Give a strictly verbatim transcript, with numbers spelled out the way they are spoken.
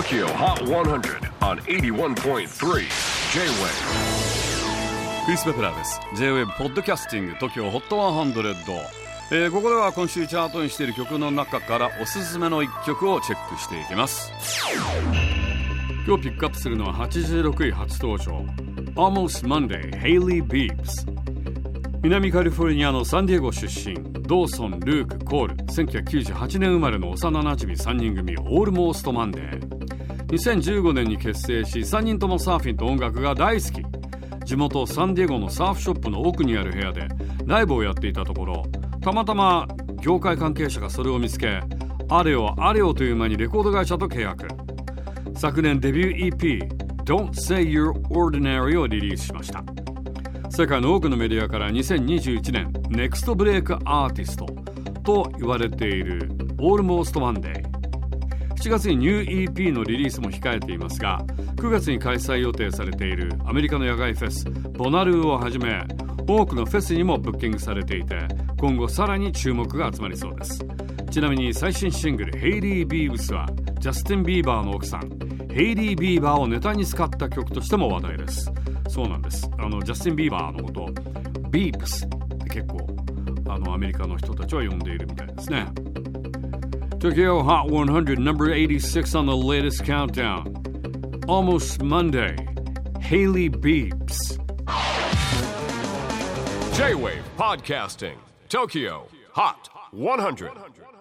Tokyo Hot one hundred on エイティワンポイントスリー J-Wave。 クリス・ベプラーです。 J-Wave ポッドキャスティング Tokyo Hot ひゃく、えー、ここでは今週チャートにしている曲の中からおすすめのいっきょくをチェックしていきます。今日ピックアップするのははちじゅうろくい初登場 Almost Monday Hailey Bieber。 南カリフォルニアのサンディエゴ出身、ドーソン、ルーク、コール、せんきゅうひゃくきゅうじゅうはちねん生まれの幼なじみさんにん組 Almost Monday。 にせんじゅうごねんに結成し、さんにんともサーフィンと音楽が大好き。地元サンディエゴのサーフショップの奥にある部屋でライブをやっていたところ、たまたま業界関係者がそれを見つけ、あれよあれよという間にレコード会社と契約。昨年デビュー イーピー Don't Say You're Ordinary をリリースしました。世界の多くのメディアからにせんにじゅういちねんネクストブレイクアーティストと言われている Almost Monday。 しちがつにニュー イーピー のリリースも控えていますが、くがつに開催予定されているアメリカの野外フェスボナルーをはじめ、多くのフェスにもブッキングされていて、今後さらに注目が集まりそうです。ちなみに最新シングルヘイリー・ビーブスはジャスティン・ビーバーの奥さんヘイリー・ビーバーをネタに使った曲としても話題です。そうなんです。あのジャスティン・ビーバーのことビーブスって結構あのアメリカの人たちは呼んでいるみたいですね。 Tokyo Hot one hundred number eighty-six on the latest countdown. Almost Monday Hailey Bieber。 J-Wave Podcasting Tokyo Hot one hundred。